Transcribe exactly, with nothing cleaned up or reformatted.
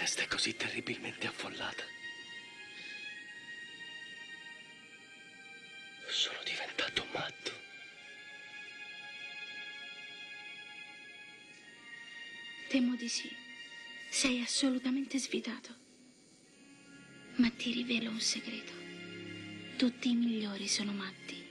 testa è così terribilmente affollata. Sono diventato matto. Temo di sì. Sei assolutamente svitato. Ma ti rivelo un segreto. Tutti i migliori sono matti.